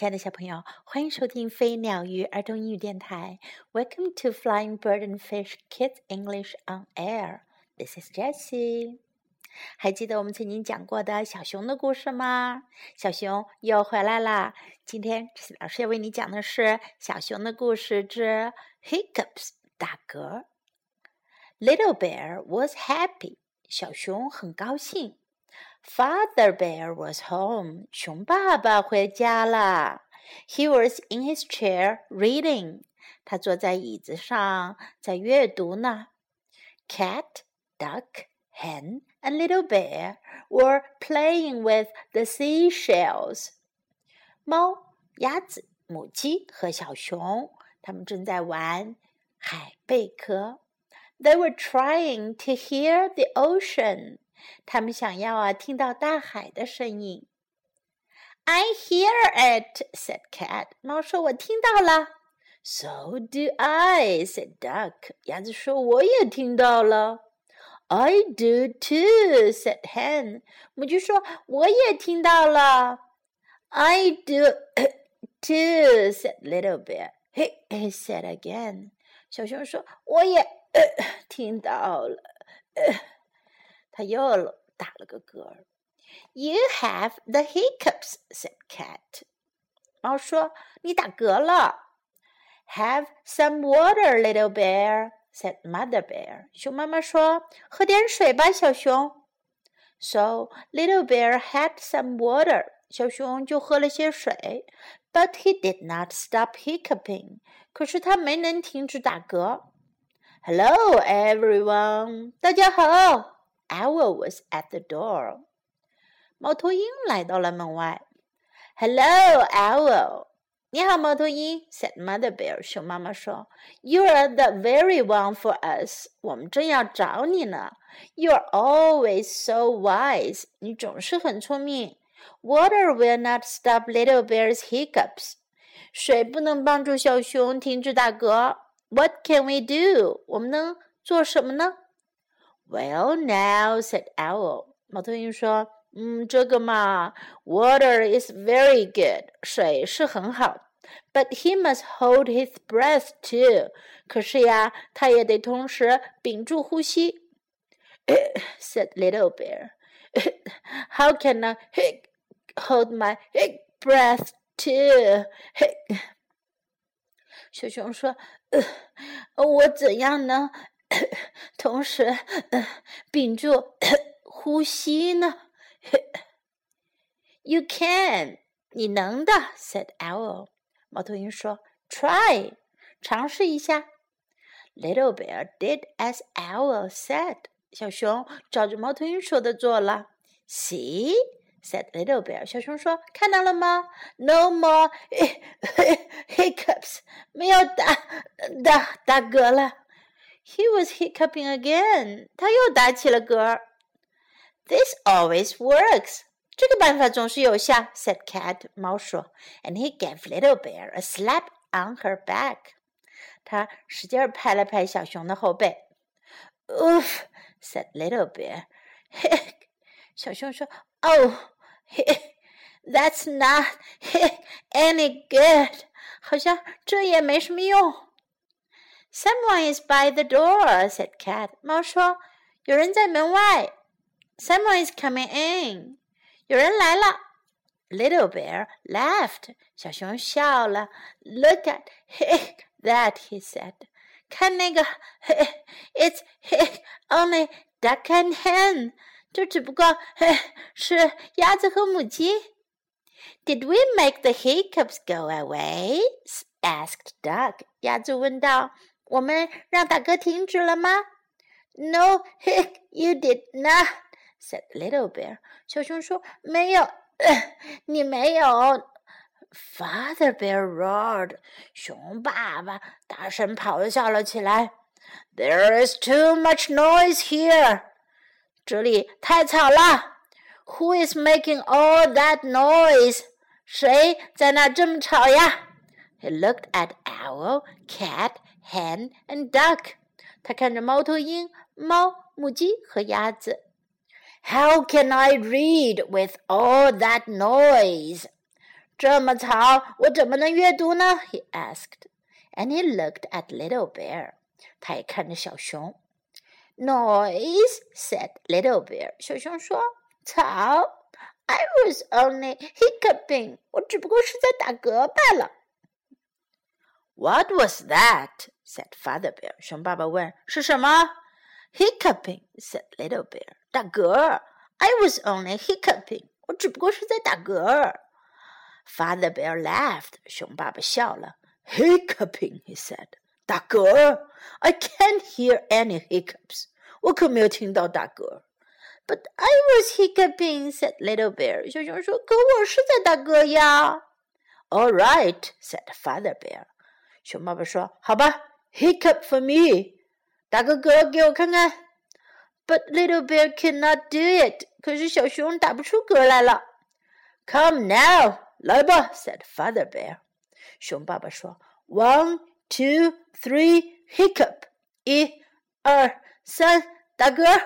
亲爱的小朋友，欢迎收听飞鸟鱼儿童英语电台。Welcome to Flying Bird and Fish Kids English on Air. This is Jessie. 还记得我们曾经讲过的小熊的故事吗？小熊又回来啦！今天Jessie老师要为你讲的是小熊的故事之 Hiccups 打嗝。Little Bear was happy. 小熊很高兴。Father Bear was home. 熊爸爸回家了。He was in his chair reading. 他坐在椅子上在阅读呢。Cat, duck, hen, and little bear were playing with the seashells. 猫、鸭子、母鸡和小熊，他们正在玩海贝壳。They were trying to hear the ocean.他们想要听到大海的声音。I hear it, said Cat. 猫说我听到了。So do I, said Duck. 鸭子说我也听到了。I do too, said Hen. 母鸡说我也听到了。I do too, said Little Bear. He said again. 小熊说我也听到了。他又打了个嗝。You have the hiccups, said Cat. 猫说你打嗝了。Have some water, little bear, said Mother Bear. 熊妈妈说喝点水吧，小熊。So little bear had some water. 小熊就喝了些水。But he did not stop hiccuping. 可是他没能停止打嗝。Hello, everyone. 大家好。Owl was at the door. 猫头鹰来到了门外。Hello, Owl. 你好，猫头鹰 said Mother Bear. 熊妈妈说 You are the very one for us. 我们正要找你呢。You are always so wise. 你总是很聪明。Water will not stop little bear's hiccups. 水不能帮助小熊停止打嗝。What can we do? 我们能做什么呢？Well, now, said Owl. 猫头鹰说这个嘛 Water is very good. 水是很好 But he must hold his breath too. 可是呀，他也得同时屏住呼吸said Little Bear. How can I hold my breath too? 小熊说我怎样呢同时屏住呼吸呢You can, 你能的 said Owl. 猫头鹰说 Try, 尝试一下 Little Bear did as Owl said. 小熊照着猫头鹰说的做了 See, said Little Bear. 小熊说看到了吗 No more hiccups. 没有打嗝了He was hiccuping again. 他又打起了嗝。This always works. 这个办法总是有效 said Cat. 猫说 And he gave Little Bear a slap on her back. 他使劲拍了拍小熊的后背。Oof, said Little Bear. 小熊说 Oh, that's not any good. 好像这也没什么用。Someone is by the door, said Cat. 猫说有人在门外。Someone is coming in. 有人来了。Little Bear laughed. 小熊笑了。Look at that, he said. 看那个 It's only duck and hen. 这只不过是鸭子和母鸡。Did we make the hiccups go away? asked Duck. 鸭子问道我们让打嗝停止了吗 No, you did not, said Little Bear. 小熊说没有你没有 Father Bear roared. 熊爸爸大声咆哮了起来 There is too much noise here. 这里太吵了 Who is making all that noise? 谁在那这么吵呀He looked at Owl, Cat, Hen, and Duck. 他看着猫头鹰、猫、母鸡和鸭子。How can I read with all that noise? 这么吵，我怎么能阅读呢 ？He asked, and he looked at Little Bear. 他也看着小熊。Noise, said Little Bear. 小熊说：“吵。” I was only hiccuping. 我只不过是在打嗝罢了。What was that? said Father Bear. 熊爸爸问：“是什么？” Hiccuping, said Little Bear. 打嗝。I was only hiccuping. 我只不过是在打嗝。Father Bear laughed. 熊爸爸笑了。Hiccuping, he said. 打嗝 I can't hear any hiccups. 我可没有听到打嗝。But I was hiccuping, said Little Bear. 小熊说：“可我是在打嗝呀。” All right, said Father Bear. 熊爸爸说：“好吧 ，hiccup for me. 打个嗝给我看看。” But Little Bear could not do it. 可是小熊打不出嗝来了。Come now, 来吧 said Father Bear. 熊爸爸说 ：“1, 2, 3, hiccup. 1, 2, 3，打嗝。”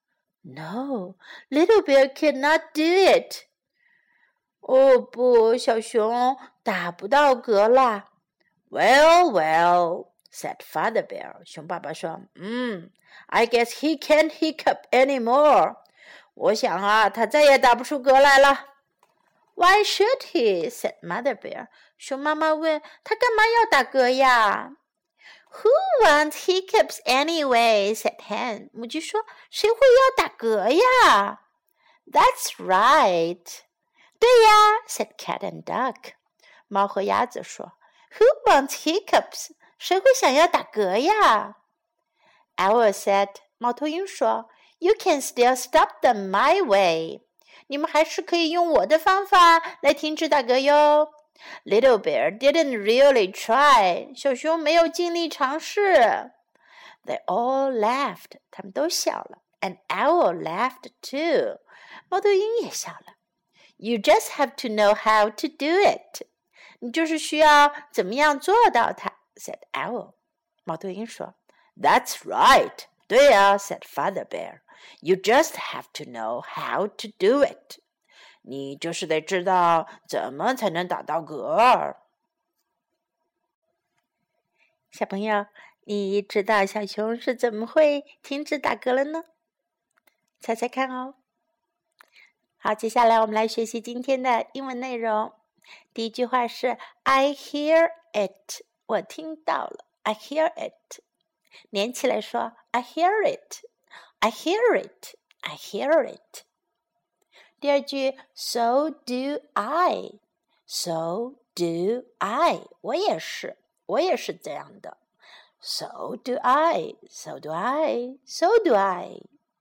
No, Little Bear could not do it. 哦不，小熊打不到嗝啦。Well, well, said Father Bear. 熊爸爸说，I guess he can't hiccup anymore. 我想啊，他再也打不出嗝来了。Why should he? said Mother Bear. 熊妈妈问，他干嘛要打嗝呀？Who wants hiccups anyway? said Hen. 母鸡说：“谁会要打嗝呀？” That's right. 对呀 said Cat and Duck. 猫和鸭子说 ：“Who wants hiccups? 谁会想要打嗝呀？” Owl said. 猫头鹰说 ：“You can still stop them my way. 你们还是可以用我的方法来停止打嗝哟。” Little Bear didn't really try. 小熊没有尽力尝试。They all laughed. 他们都笑了。And Owl laughed too. 猫头鹰也笑了。You just have to know how to do it. 你就是需要怎么样做到它 said Owl. 猫头鹰说 That's right. 对呀 said Father Bear. You just have to know how to do it. 你就是得知道怎么才能打到嗝。小朋友，你知道小熊是怎么会停止打嗝了呢？猜猜看哦。好，接下来我们来学习今天的英文内容。第一句话是 I hear it. 我听到了 I hear it. 连起来说 I hear it. I hear it. I hear it. 第二句 So do I. So do I. 我也是这样的。So do I. So do I. So do I.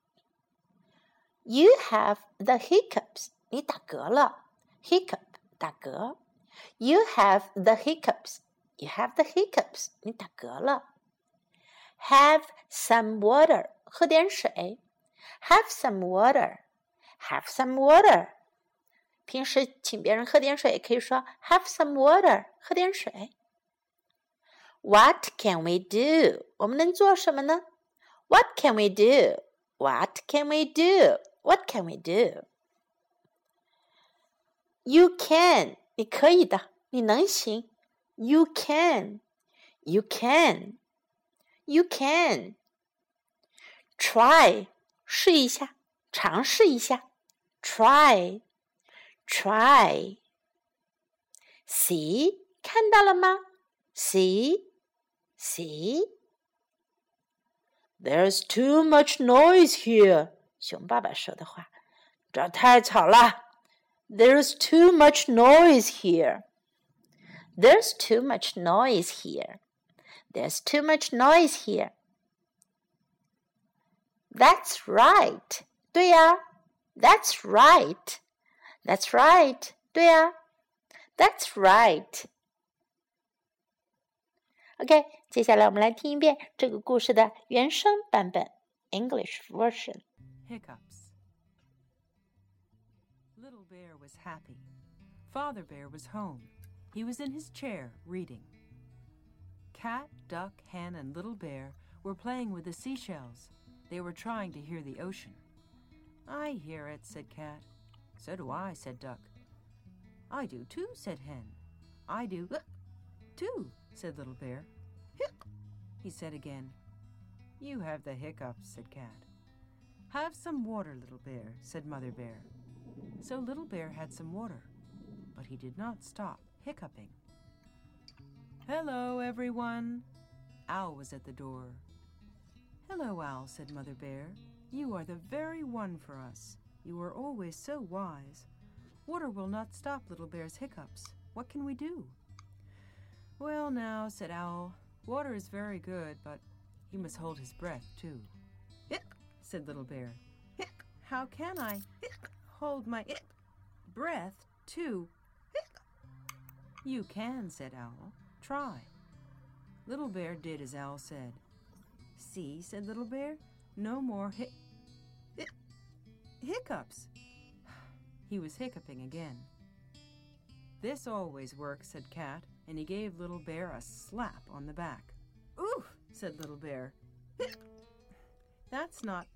You have the hiccups. 你打嗝了。Hiccup 打嗝。You have the hiccups. You have the hiccups. 你打嗝了。Have some water. 喝点水。Have some water. Have some water. 平时请别人喝点水，可以说 Have some water. 喝点水。What can we do? 我们能做什么呢？ What can we do? What can we do? What can we do? You can. 你可以的，你能行。You can. You can. You can. Try. 试一下，尝试一下。Try. Try. See. 看到了吗？ See. See. There's too much noise here. 熊爸爸说的话，这儿太吵了。There's too much noise here. There's too much noise here. There's too much noise here. That's right. 对呀 That's right. That's right. 对呀 That's right. OK, 接下来我们来听一遍这个故事的原声版本 English version. Hiccups. Little Bear was happy. Father Bear was home. He was in his chair, reading. Cat, Duck, Hen, and Little Bear were playing with the seashells. They were trying to hear the ocean. I hear it, said Cat. So do I, said Duck. I do too, said Hen. I do too, said Little Bear. He said again. You have the hiccups, said Cat. Have some water, Little Bear, said Mother Bear. So Little Bear had some water, but he did not stop hiccuping. Hello, everyone. Owl was at the door. Hello, Owl, said Mother Bear. You are the very one for us. You are always so wise. Water will not stop Little Bear's hiccups. What can we do? Well, now, said Owl, water is very good, but he must hold his breath, too. Said Little Bear. How can I hold my breath, too? You can, said Owl. Try. Little Bear did as Owl said. See, said Little Bear, no more hiccups. He was hiccuping again. This always works, said Cat, and he gave Little Bear a slap on the back. Oof, said Little Bear. That's not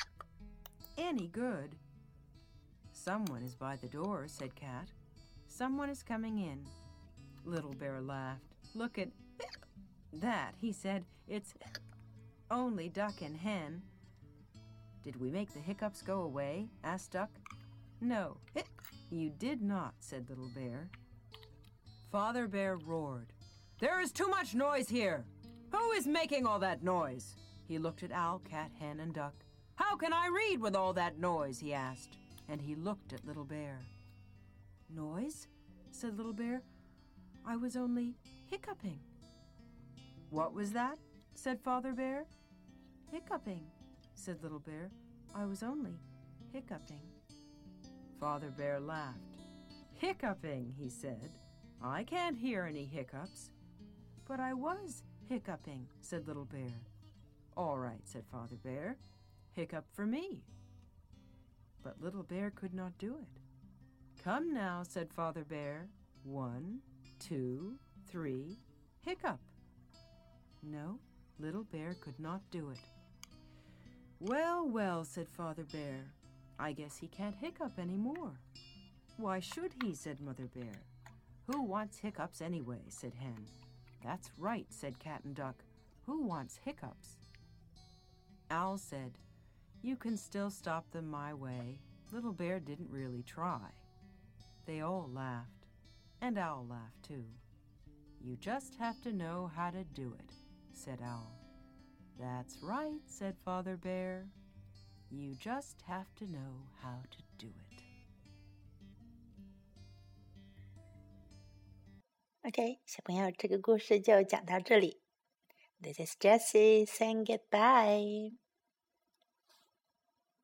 any good. Someone is by the door, said Cat. Someone is coming in. Little Bear laughed. Look at that, he said. It's only Duck and Hen. Did we make the hiccups go away? Asked Duck. No, you did not, said Little Bear. Father Bear roared. There is too much noise here. Who is making all that noise? He looked at Owl, Cat, Hen, and Duck. How can I read with all that noise? He asked, and he looked at Little Bear. Noise? Said Little Bear. I was only hiccuping. What was that? Said Father Bear. Hiccuping, said Little Bear. I was only hiccuping. Father Bear laughed. Hiccuping, he said. I can't hear any hiccups. But I was hiccuping, said Little Bear. All right, said Father Bear. Hiccup for me. But Little Bear could not do it. Come now, said Father Bear. 1, 2, 3, hiccup. No, Little Bear could not do it. Well, well, said Father Bear. I guess he can't hiccup any more. Why should he, said Mother Bear. Who wants hiccups anyway, said Hen. That's right, said Cat and Duck. Who wants hiccups? Owl said, you can still stop them my way. Little Bear didn't really try. They all laughed, and Owl laughed too. You just have to know how to do it, said Owl. That's right, said Father Bear. You just have to know how to do it. OK， 小朋友，这个故事就讲到这里。This is Jessie saying goodbye.